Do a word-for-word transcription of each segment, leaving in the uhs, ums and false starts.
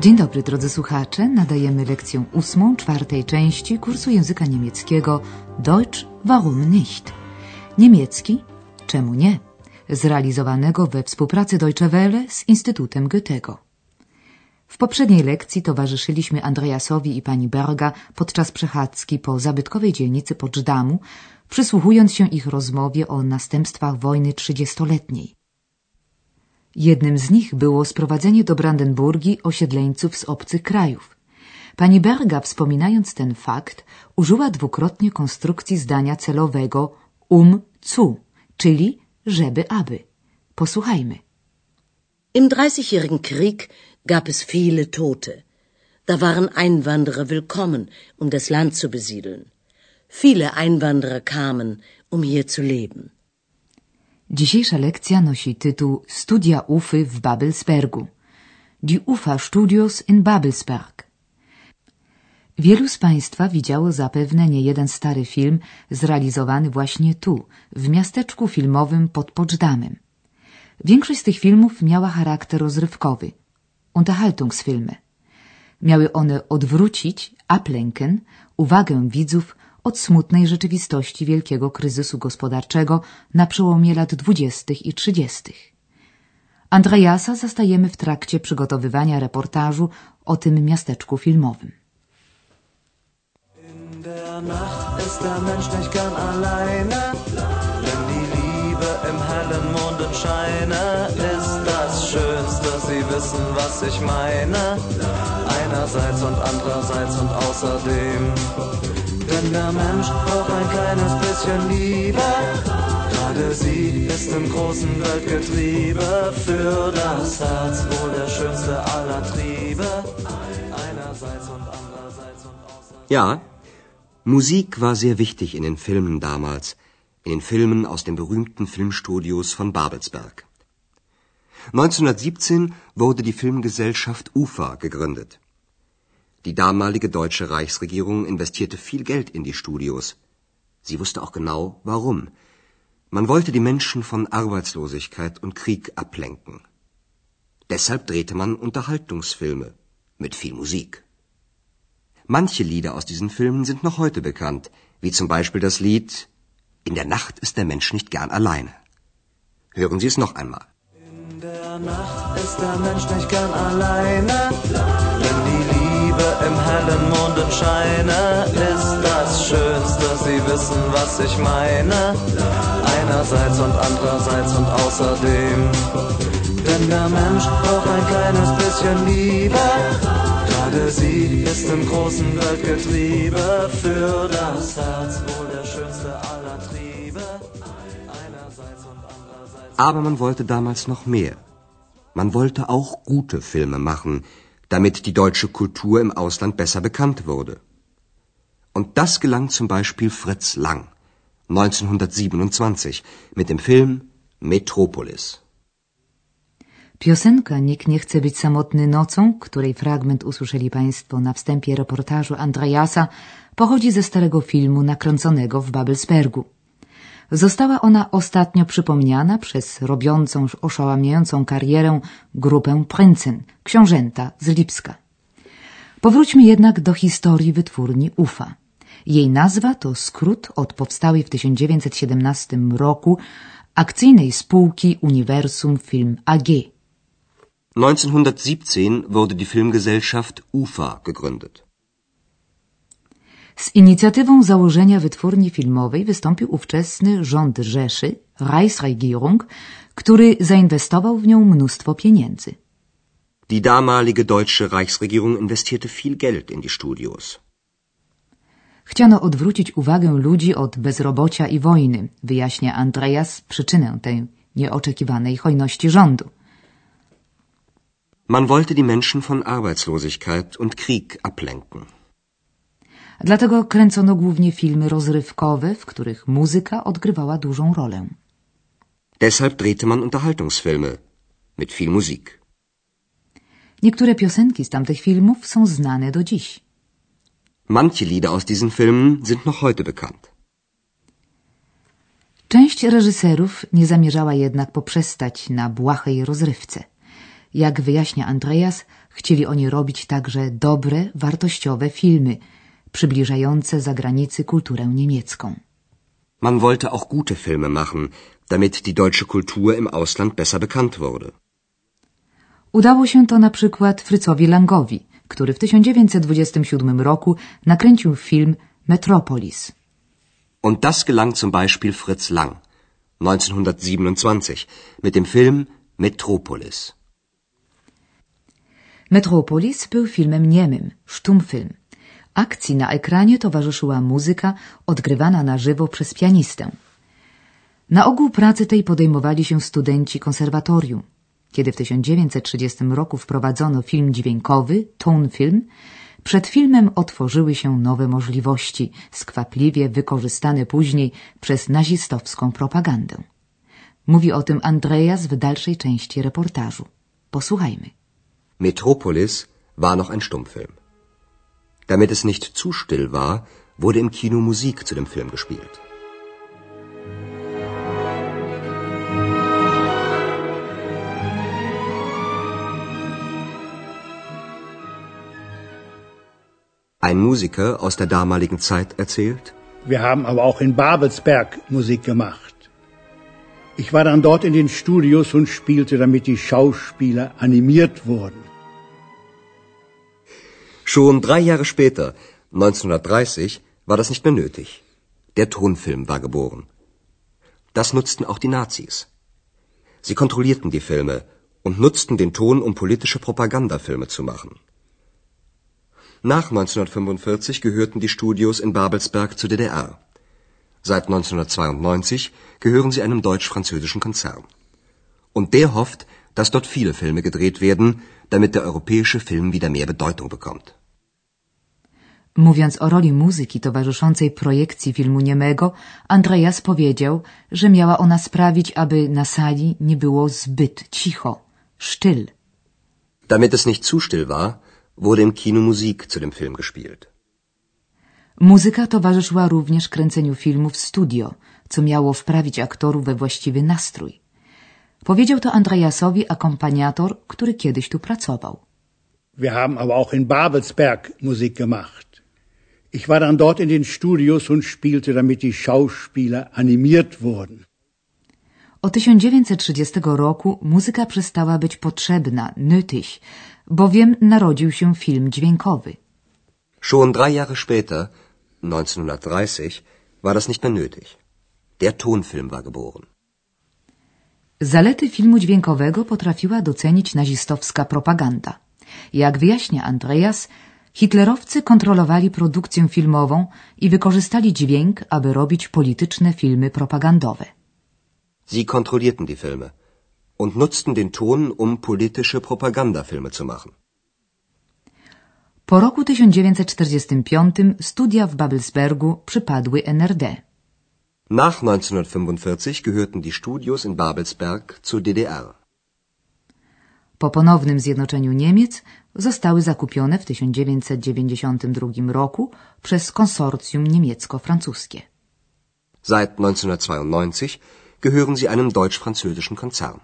Dzień dobry, drodzy słuchacze. Nadajemy lekcję ósmą, czwartej części kursu języka niemieckiego Deutsch, warum nicht? Niemiecki, czemu nie? Zrealizowanego we współpracy Deutsche Welle z Instytutem Goethego. W poprzedniej lekcji towarzyszyliśmy Andreasowi i pani Berga podczas przechadzki po zabytkowej dzielnicy Poczdamу, przysłuchując się ich rozmowie o następstwach wojny trzydziestoletniej. Jednym z nich było sprowadzenie do Brandenburgii osiedleńców z obcych krajów. Pani Berga, wspominając ten fakt, użyła dwukrotnie konstrukcji zdania celowego um zu, czyli żeby aby. Posłuchajmy. Im Dreißigjährigen Krieg gab es viele Tote. Da waren Einwanderer willkommen, um das Land zu besiedeln. Viele Einwanderer kamen, um hier zu leben. Dzisiejsza lekcja nosi tytuł Studia Ufy w Babelsbergu. Die Ufa-Studios in Babelsberg. Wielu z Państwa widziało zapewne niejeden stary film zrealizowany właśnie tu, w miasteczku filmowym pod Poczdamem. Większość z tych filmów miała charakter rozrywkowy, Unterhaltungsfilme. Miały one odwrócić, ablenken, uwagę widzów od smutnej rzeczywistości wielkiego kryzysu gospodarczego na przełomie lat dwudziestych i trzydziestych. Andreasa zastajemy w trakcie przygotowywania reportażu o tym miasteczku filmowym. In der Nacht ist der Mensch nicht gern alleine, wenn die Liebe im hellen Mondenscheine ist das Schönste, Sie wissen, was ich meine, einerseits und andererseits und außerdem. Denn der Mensch braucht ein kleines bisschen Liebe, gerade sie ist im großen Weltgetriebe, für das Herz wohl der schönste aller Triebe, einerseits und andererseits und außerdem. Ja, Musik war sehr wichtig in den Filmen damals, in den Filmen aus den berühmten Filmstudios von Babelsberg. neunzehnhundertsiebzehn wurde die Filmgesellschaft U F A gegründet. Die damalige deutsche Reichsregierung investierte viel Geld in die Studios. Sie wusste auch genau, warum. Man wollte die Menschen von Arbeitslosigkeit und Krieg ablenken. Deshalb drehte man Unterhaltungsfilme mit viel Musik. Manche Lieder aus diesen Filmen sind noch heute bekannt, wie zum Beispiel das Lied In der Nacht ist der Mensch nicht gern alleine. Hören Sie es noch einmal. In der Nacht ist der Mensch nicht gern alleine, wenn die Liebe im hellen Mondenscheine ist das Schönste, Sie wissen, was ich meine, einerseits und andererseits und außerdem. Denn der Mensch braucht ein kleines bisschen Liebe, gerade sie ist im großen Weltgetriebe, für das Herz wohl der schönste aller Triebe, einerseits und andererseits. Aber man wollte damals noch mehr. Man wollte auch gute Filme machen, damit die deutsche Kultur im Ausland besser bekannt wurde. Und das gelang zum Beispiel Fritz Lang, neunzehnhundertsiebenundzwanzig, mit dem Film Metropolis. Piosenka Nikt nie chce być samotny nocą, której fragment usłyszeli Państwo na wstępie reportażu Andreasa, pochodzi ze starego filmu nakręconego w Babelsbergu. Została ona ostatnio przypomniana przez robiącą oszałamiającą karierę grupę Prinzen, książęta z Lipska. Powróćmy jednak do historii wytwórni U F A. Jej nazwa to skrót od powstałej w tysiąc dziewięćset siedemnastym roku akcyjnej spółki Universum Film A G. neunzehnhundertsiebzehn wurde die Filmgesellschaft U F A gegründet. Z inicjatywą założenia wytwórni filmowej wystąpił ówczesny rząd Rzeszy, Reichsregierung, który zainwestował w nią mnóstwo pieniędzy. Die damalige deutsche Reichsregierung investierte viel Geld in die Studios. Chciano odwrócić uwagę ludzi od bezrobocia i wojny, wyjaśnia Andreas przyczynę tej nieoczekiwanej hojności rządu. Man wollte die Menschen von Arbeitslosigkeit und Krieg ablenken. Dlatego kręcono głównie filmy rozrywkowe, w których muzyka odgrywała dużą rolę. Deshalb drehte man Unterhaltungsfilme mit viel Musik. Niektóre piosenki z tamtych filmów są znane do dziś. Manche Lieder aus diesen Filmen sind noch heute bekannt. Część reżyserów nie zamierzała jednak poprzestać na błahej rozrywce. Jak wyjaśnia Andreas, Chcieli oni robić także dobre, wartościowe filmy, przybliżające za granicy kulturę niemiecką. Man wollte auch gute Filme machen, damit die deutsche Kultur im Ausland besser bekannt wurde. Udało się to na przykład Fritzowi Langowi, który w tysiąc dziewięćset dwudziestym siódmym roku nakręcił film Metropolis. Und das gelang zum Beispiel Fritz Lang neunzehnhundertsiebenundzwanzig mit dem Film Metropolis. Metropolis był filmem niemym, sztumfilm. Akcji na ekranie towarzyszyła muzyka odgrywana na żywo przez pianistę. Na ogół pracy tej podejmowali się studenci konserwatorium. Kiedy w tysiąc dziewięćset trzydziestym roku wprowadzono film dźwiękowy, tonfilm, przed filmem otworzyły się nowe możliwości, skwapliwie wykorzystane później przez nazistowską propagandę. Mówi o tym Andreas w dalszej części reportażu. Posłuchajmy. Metropolis war noch ein Stummfilm. Damit es nicht zu still war, wurde im Kino Musik zu dem Film gespielt. Ein Musiker aus der damaligen Zeit erzählt: Wir haben aber auch in Babelsberg Musik gemacht. Ich war dann dort in den Studios und spielte, damit die Schauspieler animiert wurden. Schon drei Jahre später, neunzehnhundertdreißig, war das nicht mehr nötig. Der Tonfilm war geboren. Das nutzten auch die Nazis. Sie kontrollierten die Filme und nutzten den Ton, um politische Propagandafilme zu machen. Nach neunzehnhundertfünfundvierzig gehörten die Studios in Babelsberg zur D D R. Seit neunzehnhundertzweiundneunzig gehören sie einem deutsch-französischen Konzern. Und der hofft, dass dort viele Filme gedreht werden, damit der europäische Film wieder mehr Bedeutung bekommt. Mówiąc o roli muzyki towarzyszącej projekcji filmu niemego, Andreas powiedział, że miała ona sprawić, aby na sali nie było zbyt cicho, still. Damit es nicht zu still war, wurde im Kino Musik zu dem Film gespielt. Muzyka towarzyszyła również kręceniu filmu w studio, co miało wprawić aktorów we właściwy nastrój. Powiedział to Andreasowi akompaniator, który kiedyś tu pracował. Wir haben aber auch in Babelsberg Musik gemacht. Ich war dann dort in den Studios und spielte, damit die Schauspieler animiert wurden. Od tysiąc dziewięćset trzydziestego roku muzyka przestała być potrzebna, nötig, bowiem narodził się film dźwiękowy. Schon drei Jahre später, neunzehnhundertdreißig, war das nicht mehr nötig. Der Tonfilm war geboren. Zalety filmu dźwiękowego potrafiła docenić nazistowska propaganda. Jak wyjaśnia Andreas, hitlerowcy kontrolowali produkcję filmową i wykorzystali dźwięk, aby robić polityczne filmy propagandowe. Sie kontrollierten die Filme und nutzten den Ton, um politische Propagandafilme zu machen. Po roku tysiąc dziewięćset czterdziestym piątym studia w Babelsbergu przypadły N R D. Nach neunzehnhundertfünfundvierzig gehörten die Studios in Babelsberg zur D D R. Po ponownym zjednoczeniu Niemiec zostały zakupione w tysiąc dziewięćset dziewięćdziesiątym drugim roku przez konsorcjum niemiecko-francuskie. Seit neunzehnhundertzweiundneunzig gehören sie einem deutsch-französischen Konzern.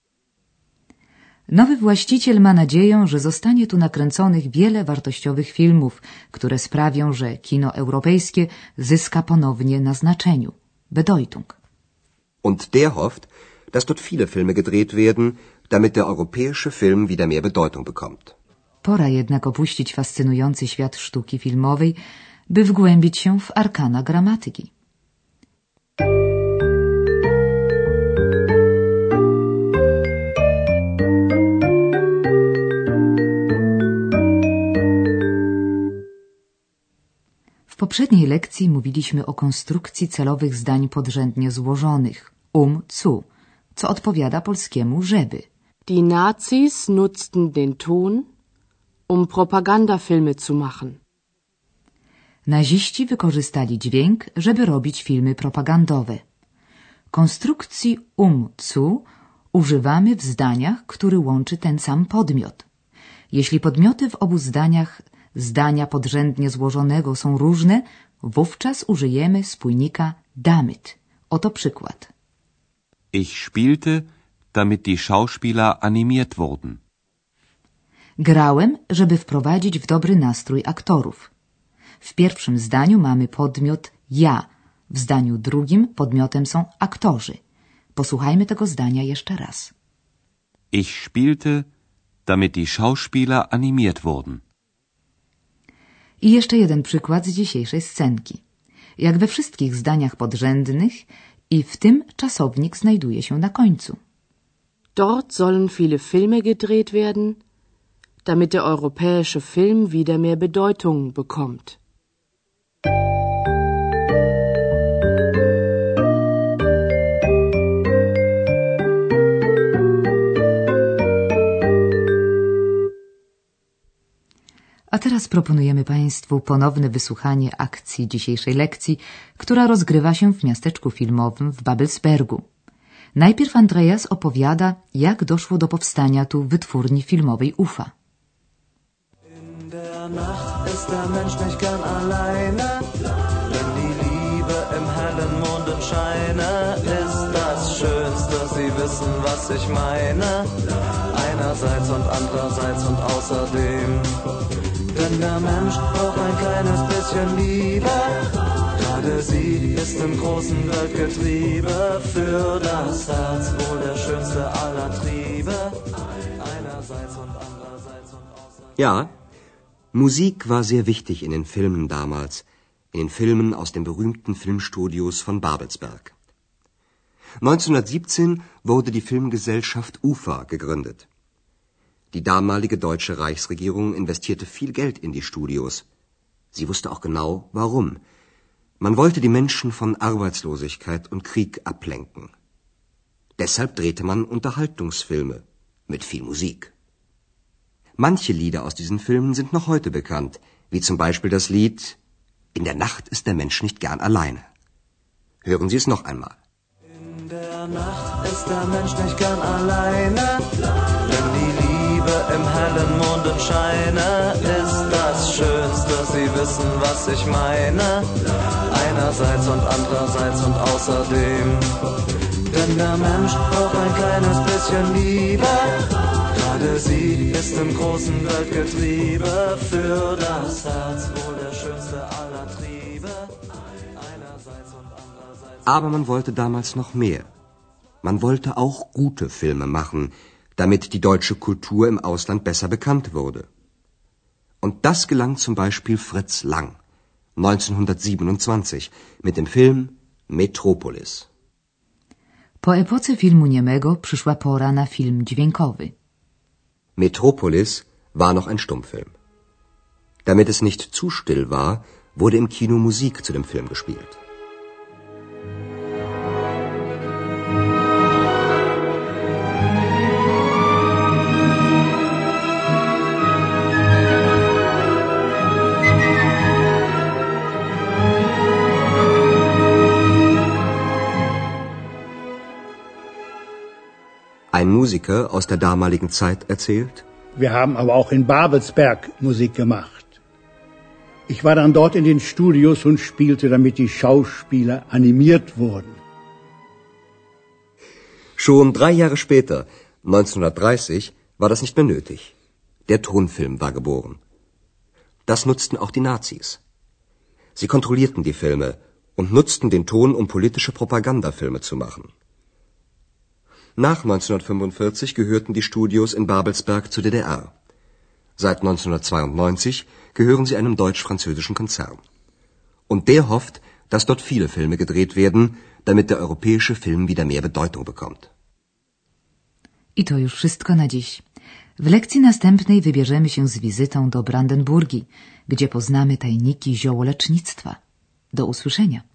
Nowy właściciel ma nadzieję, że zostanie tu nakręconych wiele wartościowych filmów, które sprawią, że kino europejskie zyska ponownie na znaczeniu. Bedeutung. Und der hofft, dass dort viele Filme gedreht werden, damit der europäische Film wieder mehr Bedeutung bekommt. Pora jednak opuścić fascynujący świat sztuki filmowej, by wgłębić się w arkana gramatyki. W poprzedniej lekcji mówiliśmy o konstrukcji celowych zdań podrzędnie złożonych, um zu, co odpowiada polskiemu żeby. Die Nazis nutzten den Ton, um Propagandafilme zu machen. Naziści wykorzystali dźwięk, żeby robić filmy propagandowe. Konstrukcji um zu używamy w zdaniach, który łączy ten sam podmiot. Jeśli podmioty w obu zdaniach zdania podrzędnie złożonego są różne, wówczas użyjemy spójnika damit. Oto przykład. Ich spielte, damit die Schauspieler animiert wurden. Grałem, żeby wprowadzić w dobry nastrój aktorów. W pierwszym zdaniu mamy podmiot ja, w zdaniu drugim podmiotem są aktorzy. Posłuchajmy tego zdania jeszcze raz. Ich spielte, damit die Schauspieler animiert wurden. I jeszcze jeden przykład z dzisiejszej scenki. Jak we wszystkich zdaniach podrzędnych i w tym czasownik znajduje się na końcu. Dort sollen viele Filme gedreht werden, damit der europäische Film wieder mehr Bedeutung bekommt. A teraz proponujemy Państwu ponowne wysłuchanie akcji dzisiejszej lekcji, która rozgrywa się w miasteczku filmowym w Babelsbergu. Najpierw Andreas opowiada, jak doszło do powstania tu wytwórni filmowej U F A. In der Nacht ist der Mensch nicht gern alleine, wenn die Liebe im hellen Mondenscheine ist das Schönste, Sie wissen, was ich meine, einerseits und andererseits und außerdem. Denn der Mensch braucht ein kleines bisschen Liebe, gerade sie ist im großen Weltgetriebe, für das Herz wohl der schönste aller Triebe, einerseits und andererseits und außerdem. Ja, Musik war sehr wichtig in den Filmen damals, in den Filmen aus den berühmten Filmstudios von Babelsberg. neunzehnhundertsiebzehn wurde die Filmgesellschaft U F A gegründet. Die damalige deutsche Reichsregierung investierte viel Geld in die Studios. Sie wusste auch genau, warum. Man wollte die Menschen von Arbeitslosigkeit und Krieg ablenken. Deshalb drehte man Unterhaltungsfilme mit viel Musik. Manche Lieder aus diesen Filmen sind noch heute bekannt, wie zum Beispiel das Lied In der Nacht ist der Mensch nicht gern alleine. Hören Sie es noch einmal. In der Nacht ist der Mensch nicht gern alleine, wenn die Liebe im hellen Mondenscheine ist das Schönste, Sie wissen, was ich meine, einerseits und andererseits und außerdem. Denn der Mensch braucht ein kleines bisschen Liebe, gerade sie ist im großen Weltgetriebe, für das Herz wohl der schönste aller Triebe, einerseits und andererseits. Aber man wollte damals noch mehr. Man wollte auch gute Filme machen, damit die deutsche Kultur im Ausland besser bekannt wurde. Und das gelang zum Beispiel Fritz Lang, neunzehnhundertsiebenundzwanzig, mit dem Film Metropolis. Po epoce filmu niemego przyszła pora na film dźwiękowy. Metropolis war noch ein Stummfilm. Damit es nicht zu still war, wurde im Kino Musik zu dem Film gespielt. Ein Musiker aus der damaligen Zeit erzählt: Wir haben aber auch in Babelsberg Musik gemacht. Ich war dann dort in den Studios und spielte, damit die Schauspieler animiert wurden. Schon drei Jahre später, neunzehnhundertdreißig, war das nicht mehr nötig. Der Tonfilm war geboren. Das nutzten auch die Nazis. Sie kontrollierten die Filme und nutzten den Ton, um politische Propagandafilme zu machen. Nach neunzehnhundertfünfundvierzig gehörten die Studios in Babelsberg zur D D R. Seit neunzehnhundertzweiundneunzig gehören sie einem deutsch-französischen Konzern. Und der hofft, dass dort viele Filme gedreht werden, damit der europäische Film wieder mehr Bedeutung bekommt. I to już wszystko na dziś. W lekcji następnej wybierzemy się z wizytą do Brandenburgii, gdzie poznamy tajniki ziołolecznictwa. Do usłyszenia.